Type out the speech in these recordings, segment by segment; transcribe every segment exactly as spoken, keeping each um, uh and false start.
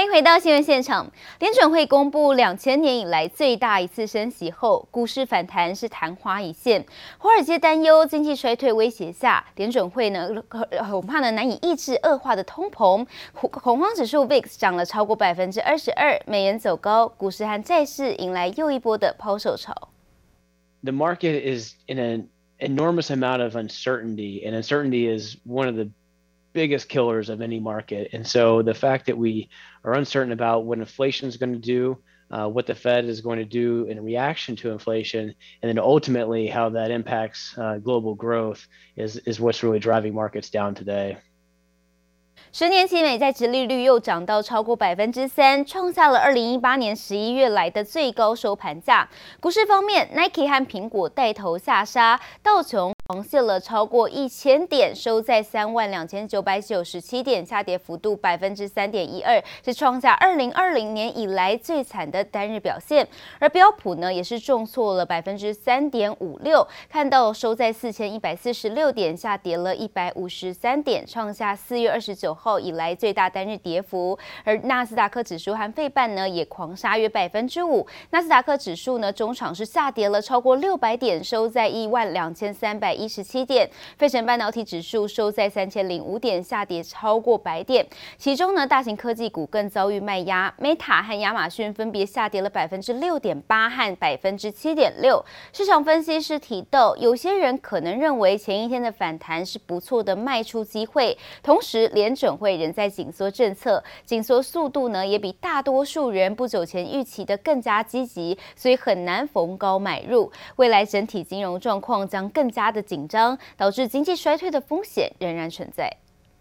歡迎回到新聞現場。聯準會公布兩千年以來最大一次升息後，股市反彈是曇花一現。華爾街擔憂經濟衰退威脅下，聯準會呢恐怕呢難以抑制惡化的通膨。恐慌指數 V I X 漲了超過百分之二十二，美元走高，股市和債市迎來又一波的拋售潮。 The market is in an enormous amount of uncertainty, and uncertainty is one of the biggest killers of any market. And so the fact that we are uncertain about what inflation is going to do, uh, what the Fed is going to do in reaction to inflation, and then ultimately how that impacts uh, global growth is, is what's really driving markets down today. 十年期美債殖利率又漲到超過百分之三，創下了二零一八年十一月來的最高收盤價。股市方面 ，Nike 和蘋果帶頭下殺，道瓊狂瀉了超過一千點，收在三萬兩千九百九十七點，下跌幅度百分之三點一二，是創下二零二零年以來最慘的單日表現。而標普呢，也是重挫了百分之三點五六，看到收在四千一百四十六點，下跌了一百五十三點，創下四月二十九號以來最大單日跌幅。而納斯達克指數和費半呢，也狂殺約百分之五。納斯達克指數呢，中場是下跌了超過六百點，收在一萬兩千三百一十七點。費城半導體指數收在三千零五點，下跌超過百點。其中呢，大型科技股更遭遇賣壓 ，Meta 和亞馬遜分別下跌了百分之六點八和百分之七點六。市場分析師提到，有些人可能認為前一天的反彈是不錯的賣出機會，同時聯準會仍在緊縮政策，緊縮速度呢也比大多數人不久前預期的更加積極，所以很難逢高買入。未來整體金融狀況將更加的緊張，導致經濟衰退的風險仍然存在。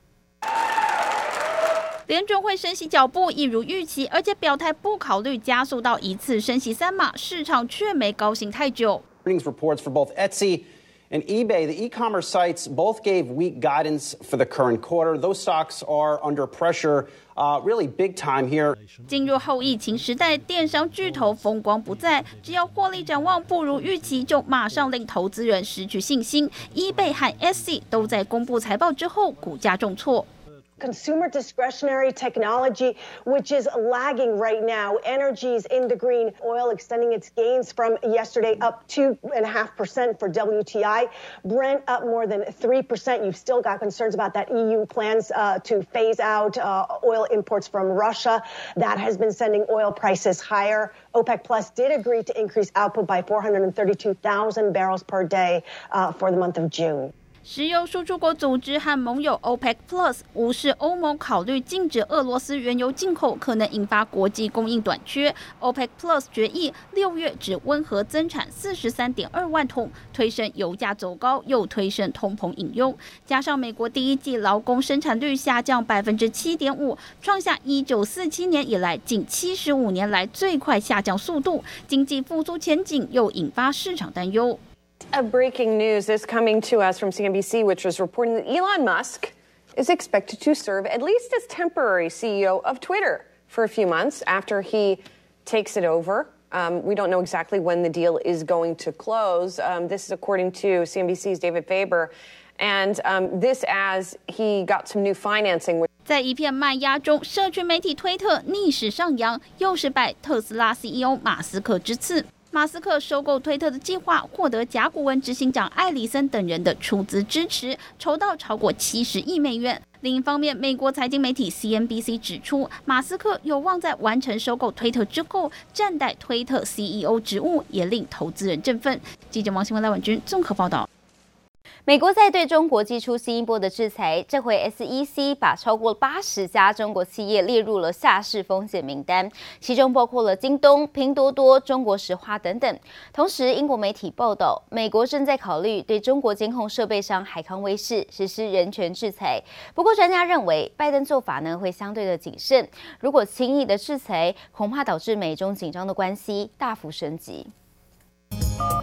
聯準會升息腳步一如預期，而且表態不考慮加速到一次升息三碼，市場卻沒高興太久。 Earnings reports for both Etsy and eBay, the e-commerce sites, both gave weak guidance for the current quarter. Those stocks are under pressure, uh, really big time here. 進入後疫情時代，電商巨頭風光不再，只要獲利展望不如預期，就馬上令投資人失去信心。eBay 和 Etsy 都在公布財報之後，股價重挫。 Consumer discretionary technology, which is lagging right now. Energy's in the green. Oil extending its gains from yesterday, up two and a half percent for W T I. Brent up more than three percent. You've still got concerns about that E U plans uh, to phase out uh, oil imports from Russia. That has been sending oil prices higher. OPEC Plus did agree to increase output by four hundred thirty-two thousand barrels per day uh, for the month of June. 石油輸出國組織和盟友 OPEC Plus 無視歐盟考慮禁止俄羅斯原油進口，可能引發國際供應短缺。OPEC Plus 決議六月只溫和增產四十三點二萬桶，推升油價走高，又推升通膨隱憂。加上美國第一季勞工生產率下降百分之七點五，創下一九四七年以來近七十五年來最快下降速度，經濟復甦前景又引發市場擔憂。 A breaking news is coming to us from C N B C, which was reporting that Elon Musk is expected to serve at least as temporary C E O of Twitter for a few months after he takes it over. Um, we don't know exactly when the deal is going to close. Um, this is according to C N B C's David Faber. And um, this as he got some new financing. 在一片賣壓中，社群媒體推特逆勢上揚，又是拜特斯拉 C E O 馬斯克之賜。馬斯克收購推特的計劃獲得甲骨文執行長艾里森等人的出資支持，籌到超過七十億美元。另一方面，美國財經媒體 C N B C 指出，馬斯克有望在完成收購推特之後，暫代推特 C E O 職務，也令投資人振奮。記者王新文、賴婉君綜合報道。 美國在對中國祭出新一波的制裁，這回 S E C 把超過八十家中國企業列入了下市風險名單，其中包括了京東、拼多多、中國石化等等。同時，英國媒體報道，美國正在考慮對中國監控設備商海康威視實施人權制裁。不過，專家認為，拜登做法呢會相對的謹慎，如果輕易的制裁，恐怕導致美中緊張的關係大幅升級。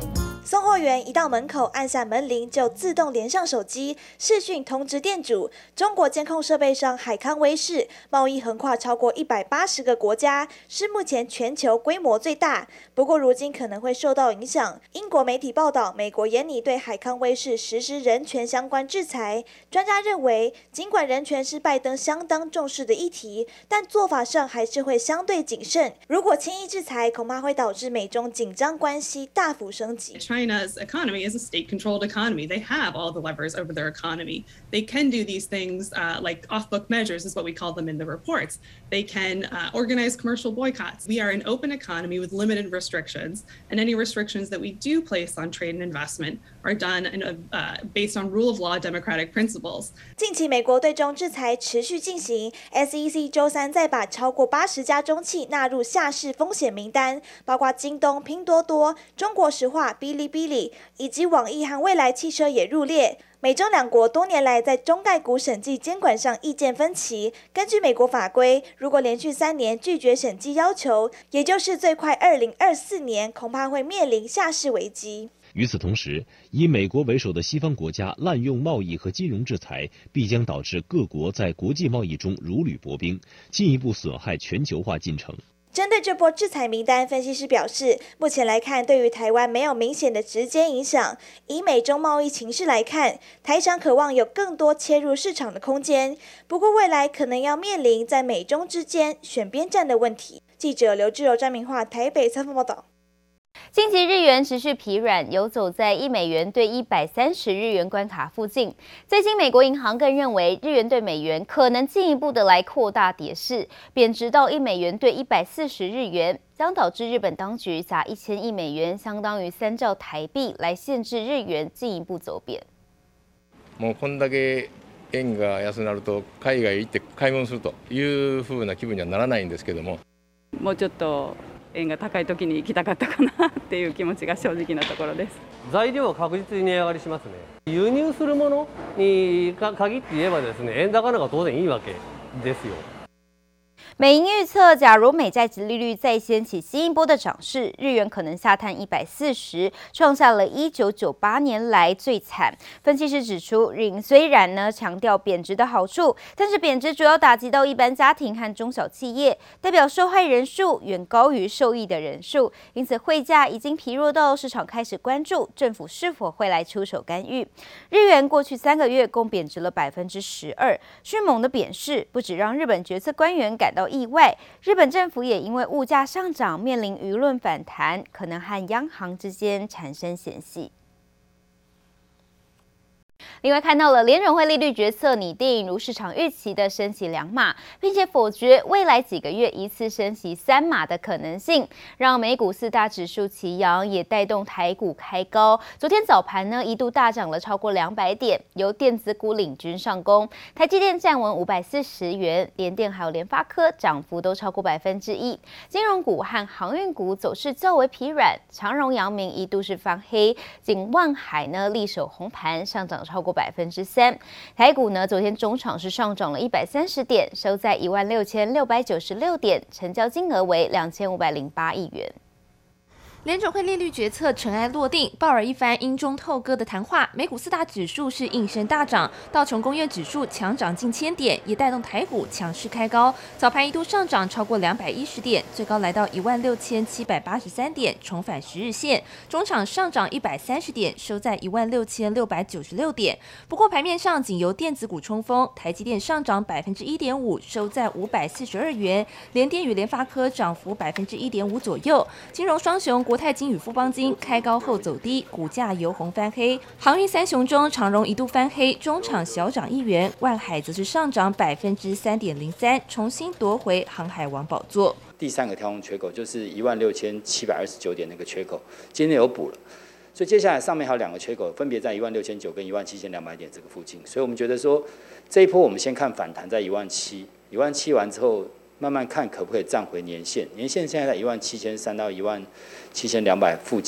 送貨員一到門口按下門鈴，就自動連上手機視訊通知店主。中國監控設備商海康威視貿易橫跨超過一百八十個國家，是目前全球規模最大。不過如今可能會受到影響。英國媒體報道，美國研擬對海康威視實施人權相關制裁。專家認為，儘管人權是拜登相當重視的議題，但做法上還是會相對謹慎。如果輕易制裁，恐怕會導致美中緊張關係大幅升級。 China's economy is a state-controlled economy. They have all the levers over their economy. They can do these things uh, like off-book measures is what we call them in the reports. They can uh, organize commercial boycotts. We are an open economy with limited restrictions, and any restrictions that we do place on trade and investment are done in a, uh, based on rule of law democratic principles. 近期美國對中制裁持續進行 ，S E C 周三再把超過八十家中企納入下市風險名單，包括京東、拼多多、中國石化、嗶哩嗶哩以及網易和蔚來汽車也入列。美中兩國多年來在中概股審計監管上意見分歧。根據美國法規，如果連續三年拒絕審計要求，也就是最快二零二四年，恐怕會面臨下市危機。 與此同時，以美國為首的西方國家濫用貿易和金融制裁，必將導致各國在國際貿易中如履薄冰，進一步損害全球化進程。 針對這波制裁名單，分析師表示，目前來看，對於台灣沒有明顯的直接影響。以美中貿易情勢來看，台商渴望有更多切入市場的空間，不過未來可能要面臨在美中之間選邊站的問題。記者劉志柔、詹明化台北採訪報道。 近期日元持續疲軟，游走在一美元對一百三十日元關卡附近。最近，美國銀行更認為日元對美元可能進一步的來擴大跌勢，貶值到一美元對一百四十日元，將導致日本當局砸一千億美元，相當於三兆台幣，來限制日元進一步走貶。 もうこんだけ円が安くなると海外行って買い物するという風な気分にはならないんですけども。 もうちょっと円が高い時に行きたかったかなっていう気持ちが正直なところです。材料は確実に値上がりしますね。輸入するものに限って言えばですね、円高の方が当然いいわけですよ。 美銀預測，假如美債殖利率再掀起新一波的漲勢，日元可能下探一百四十，創下了一九九八年來最慘。分析師指出，日銀雖然呢強調貶值的好處，但是貶值主要打擊到一般家庭和中小企業，代表受害人數遠高於受益的人數，因此匯價已經疲弱到市場開始關注政府是否會來出手干預。日元過去三個月共貶值了百分之十二，迅猛的貶勢不只讓日本決策官員感到意外，日本政府也因為物價上漲面臨輿論反彈，可能和央行之間產生嫌隙。另外，看到了聯準會利率決策擬定如市場預期的升息兩碼，並且否決未來幾個月一次升息三碼的可能性，讓美股四大指數齊揚，也帶動台股開高。昨天早盤呢，一度大漲了超過兩百點，由電子股領軍上攻，台積電站穩五百四十元，聯電還有聯發科漲幅都超過百分之一。金融股和航運股走勢較為疲軟，長榮、陽明一度是翻黑，僅萬海呢力守紅盤，上漲超過百分之三。台股呢，昨天中場是上漲了一百三十點，收在一萬六千六百九十六點，成交金額為兩千五百零八億元。 聯準會利率決策塵埃落定，鮑爾一番陰中透歌的談話，美股四大指數是應聲大漲，道瓊工業指數強漲近千點，也帶動台股強勢開高。早盤一度上漲超過兩百一十點，最高來到一萬六千七百八十三點，重返十日線。中場上漲一百三十點，收在一萬六千六百九十六點。不過盤面上僅由電子股衝鋒，台積電上漲百分之一點五，收在五百四十二元。聯電與聯發科漲幅百分之一點五左右。金融雙雄國泰金與富邦金開高後走低，股價由紅翻黑。航運三雄中，長榮一度翻黑，中場小漲一元，萬海則是上漲百分之三點零三，重新奪回航海王寶座。 第三個跳空缺口就是一萬六千七百二十九點那個缺口，今天有補了，所以接下來上面還有兩個缺口，分別在一萬六千九跟一萬七千兩百點這個附近。所以我們覺得說，這一波我們先看反彈在一萬七，一萬七完之後，慢慢看可不可以站回年線，年線現在在一萬七千三到一萬七千兩百附近。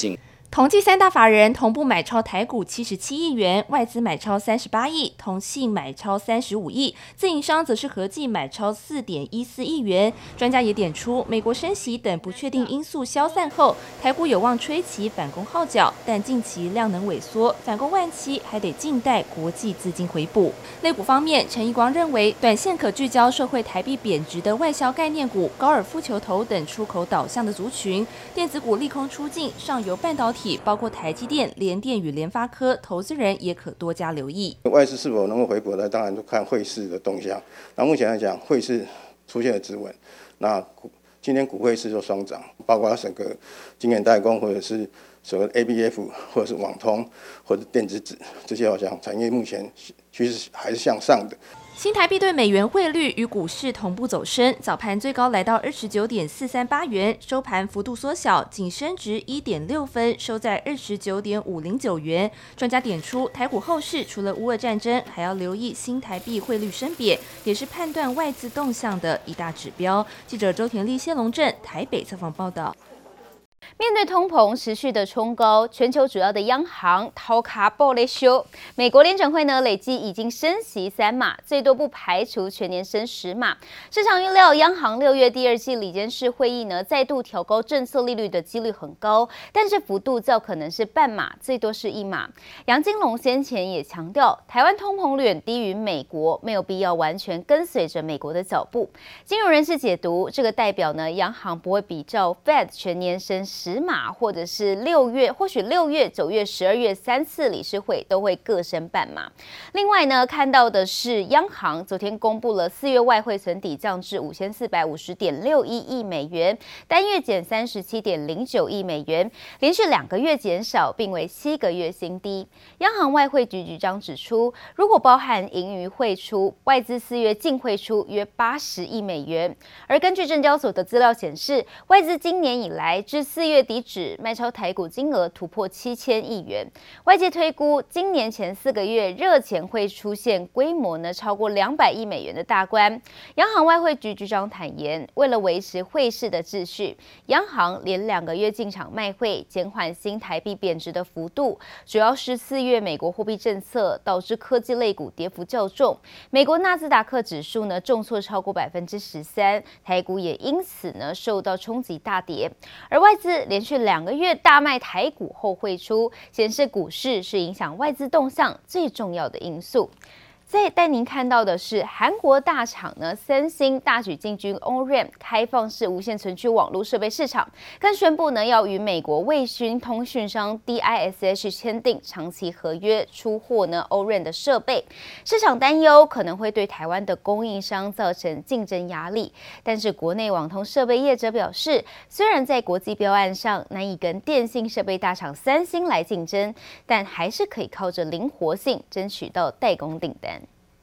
同計三大法人同步買超台股七十七億元，外資買超三十八億，投信買超三十五億，自營商則是合計買超四點一四億元。專家也點出，美國升息等不確定因素消散後，台股有望吹起反攻號角，但近期量能萎縮，反攻萬期還得靜待國際資金回補。類股方面，陳奕光認為，短線可聚焦受惠台幣貶值的外銷概念股、高爾夫球頭等出口導向的族群，電子股利空出盡，上游半導體包括台積電、聯電與聯發科，投資人也可多加留意。 外資是否能夠回補呢？當然就看匯市的動向。那目前來講，匯市出現了止穩，那今天股匯市就雙漲，包括整個晶圓代工或者是所謂 A B F 或者是網通或者電子紙這些，好像產業目前趨勢還是向上的。 新台幣對美元匯率與股市同步走升，早盤最高來到二十九點四三八元，收盤幅度縮小，僅升值一點六分，收在二十九點五零九元。專家點出，台股後市除了烏俄戰爭，還要留意新台幣匯率升貶，也是判斷外資動向的一大指標。記者周田麗、謝龍鎮台北採訪報道。 面對通膨持續的衝高，全球主要的央行頭殼抱咧燒。美國聯準會呢累計已經升息三碼，最多不排除全年升十碼。市場預料央行六月第二季理監事會議呢再度調高政策利率的幾率很高，但是幅度較可能是半碼，最多是一碼。楊金龍先前也強調，台灣通膨遠低於美國，沒有必要完全跟隨着美國的腳步。金融人士解讀，這個代表呢央行不會比照 Fed 全年升十碼，或者是六月，或許六月、九月、十二月三次理事會都會各升半碼。另外呢，看到的是央行昨天公布了四月外匯存底降至五千四百五十點六一億美元，單月減三十七點零九億美元，連續兩個月減少，並為七個月新低。央行外匯局局長指出，如果包含盈餘匯出，外資四月淨匯出約八十億美元。而根據證交所的資料顯示，外資今年以來至四月底止賣超台股金額突破七千億元，外界推估今年前四個月熱錢會出現規模呢超過兩百億美元的大關。央行外匯局局長坦言，為了維持匯市的秩序，央行連兩個月進場賣匯，減緩新台幣貶值的幅度。主要是四月美國貨幣政策導致科技類股跌幅較重，美國納斯達克指數呢重挫超過百分之十三，台股也因此呢受到衝擊大跌。而外資連續兩個月大賣台股後匯出，顯示股市是影響外資動向最重要的因素。再帶您看到的是，韓國大廠呢，三星大舉進軍 O R A M 開放式無線存取網絡設備市場，更宣布呢要與美國衛星通訊商 D I S H 簽訂長期合約，出貨呢 O R A M 的設備。市場擔憂可能會對台灣的供應商造成競爭壓力，但是國內網通設備業者表示，雖然在國際標案上難以跟電信設備大廠三星來競爭，但還是可以靠着靈活性爭取到代工訂單。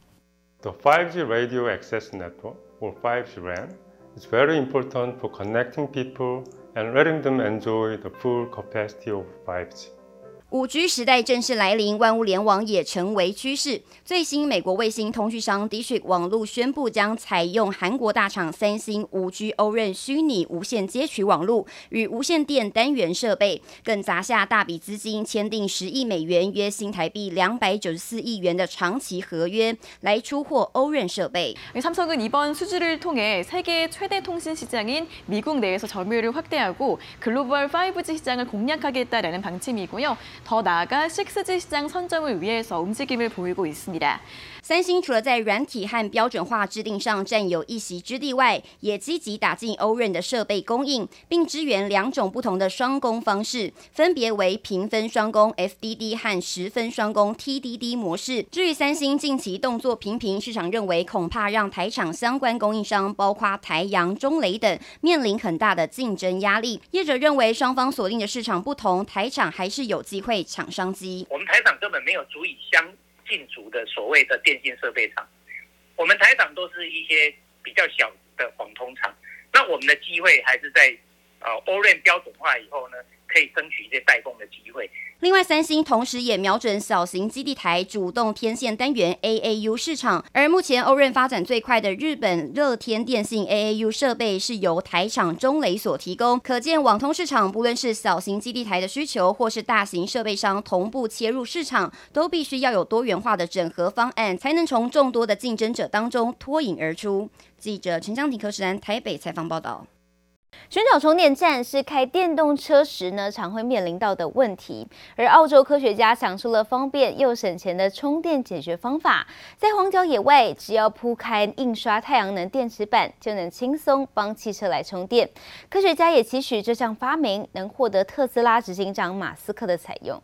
The five G Radio Access Network, or five G R A N, is very important for connecting people and letting them enjoy the full capacity of five G. 五 G 時代正式來臨，萬物聯網也成為趨勢。最新美國衛星通訊商 Dish 網絡宣布將採用韓國大廠三星五 G O R A N 虛擬無線接取網絡與無線電單元設備，更砸下大筆資金，簽訂十億美元（約新台幣兩百九十四億元）的長期合約，來出貨 O R A N 設備。 삼성은 이번 수주를 통해 세계 최대 통신 시장인 미국 내에서 점유율을 확대하고 글로벌 파이브 G 시장을 공략하겠다라는 방침이고요. 더 나아가 식스 G 시장 선점을 위해서 움직임을 보이고 있습니다. 三星除了在軟體和標準化制定上佔有一席之地外，也積極打進 O R A N 的設備供應，並支援兩種不同的雙工方式，分別為平分雙工 F D D 和十分雙工 T D D 模式。至於三星近期動作頻頻，市場認為恐怕讓台廠相關供應商，包括台陽、中磊等，面臨很大的競爭壓力。業者認為雙方鎖定的市場不同，台廠還是有機會搶商機。 我們台廠根本沒有足以相進足的所謂的電信設備廠，我們台廠都是一些比較小的網通廠，那我們的機會還是在呃 O R A N 標準化以後呢，可可以爭取一些代工的機會。 另外，三星同時也瞄準小型基地台主動天線單元 A A U 市場，而目前歐潤發展最快的日本樂天電信 A A U 設備是由台廠中磊所提供，可見網通市場不論是小型基地台的需求，或是大型設備商同步切入市場，都必須要有多元化的整合方案，才能從眾多的競爭者當中脫穎而出。記者陳江婷、柯世安台北採訪報道。尋找充電站是開電動車時呢常會面臨到的問題，而澳洲科學家想出了方便又省錢的充電解決方法，在荒郊野外，只要鋪開印刷太陽能電池板，就能輕鬆幫汽車來充電。科學家也期許這項發明能獲得特斯拉執行長馬斯克的採用。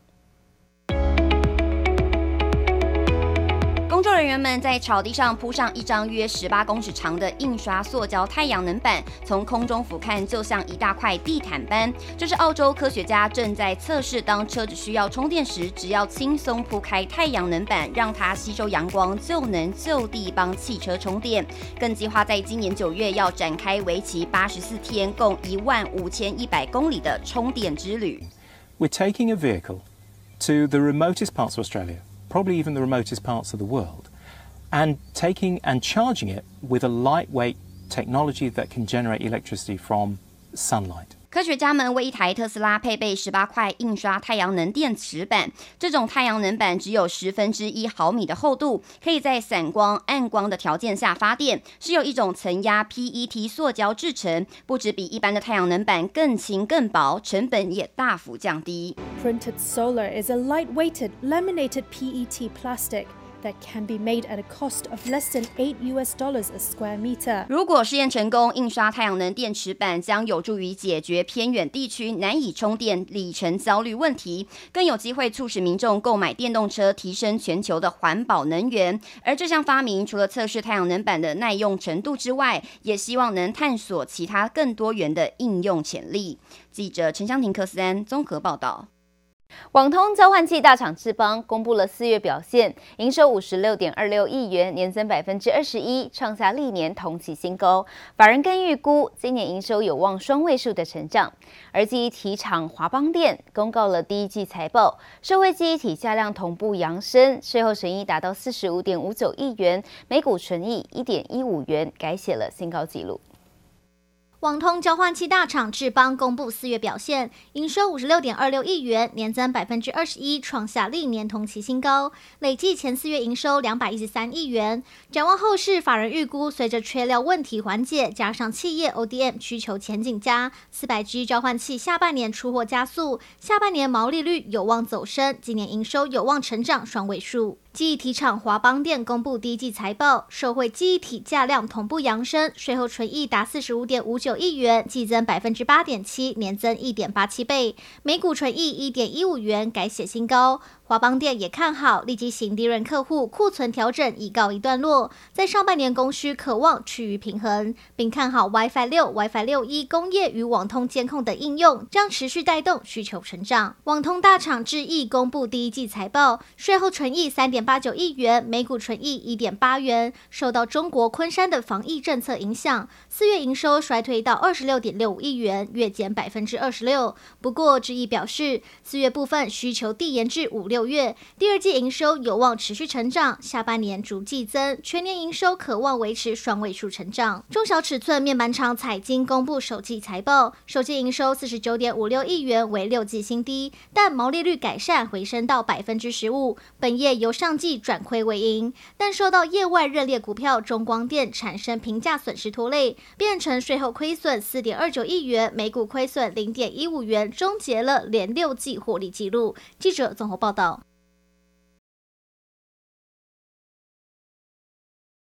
工作人員們在草地上鋪上一張約十八公尺長的印刷塑膠太陽能板，從空中俯瞰就像一大塊地毯般。這是澳洲科學家正在測試，當車子需要充電時，只要輕鬆鋪開太陽能板，讓它吸收陽光，就能就地幫汽車充電。更計劃在今年九月要展開為期八十四天、共一萬五千一百公里的充電之旅。 We're taking a vehicle to the remotest parts of Australia, probably even the remotest parts of the world, and taking and charging it with a lightweight technology that can generate electricity from sunlight. 科學家們為一台特斯拉配備十八塊印刷太陽能電池板，這種太陽能板只有十分之一毫米的厚度，可以在散光、暗光的條件下發電，是由一種層壓 P E T 塑膠製成，不只比一般的太陽能板更輕更薄，成本也大幅降低。 Printed solar is a light-weighted laminated P E T plastic that can be made at a cost of less than eight U S dollars a square meter. 如果試驗成功，印刷太陽能電池板將有助於解決偏遠地區難以充電里程焦慮問題，更有機會促使民眾購買電動車，提升全球的環保能源。而這項發明除了測試太陽能板的耐用程度之外，也希望能探索其他更多元的應用潛力。記者陳湘婷、柯思安綜合報道。網通交換器大廠智邦公布了四月表現，營收五十六點二六億元，年增百分之二十一，創下歷年同期新高。法人更預估今年營收有望雙位數的成長。而記憶體廠華邦電公告了第一季財報，社會記憶體價量同步揚升，稅後損益達到四十五點五九億元，每股純益一點一五元，改寫了新高紀錄。 網通交換器大廠智邦公布四月表現，營收五十六點二六億元，年增百分之二十一，創下歷年同期新高。累計前四月營收兩百一十三億元。展望後市，法人預估隨着缺料問題緩解，加上企業 O D M 需求前景佳，四百 G 交換器下半年出貨加速，下半年毛利率有望走升，今年營收有望成長雙位數。記憶體廠華邦電公布第一季財報，受惠記憶體價量同步揚升，稅後純益達四十五點五九億元，季增百分之八點七，年增一點八七倍，每股純益一點一五元，改寫新高。華邦電也看好立基型低潤客戶庫存調整已告一段落，在上半年供需可望趨於平衡，並看好 WiFi 六、WiFi 六 E 工業與網通監控等應用將持續帶動需求成長。網通大廠智毅公布第一季財報，稅後純益三點八九億元，每股純益一點八元，受到中國昆山的防疫政策影響，四月營收衰退到二十六點六五億元，月減百分之二十六。不過智毅表示，四月部分需求遞延至五六月，第二季營收有望持續成長，下半年逐季增，全年營收可望維持雙位數成長。中小尺寸面板廠彩晶公布首季財報，首季營收四十九點五六億元，為六季新低，但毛利率改善回升到百分之十五，本業由上季轉虧為盈，但受到業外認列股票中光電產生評價損失拖累，變成稅後虧損四點二九億元，每股虧損零點一五元，終結了連六季獲利紀錄。記者綜合報道。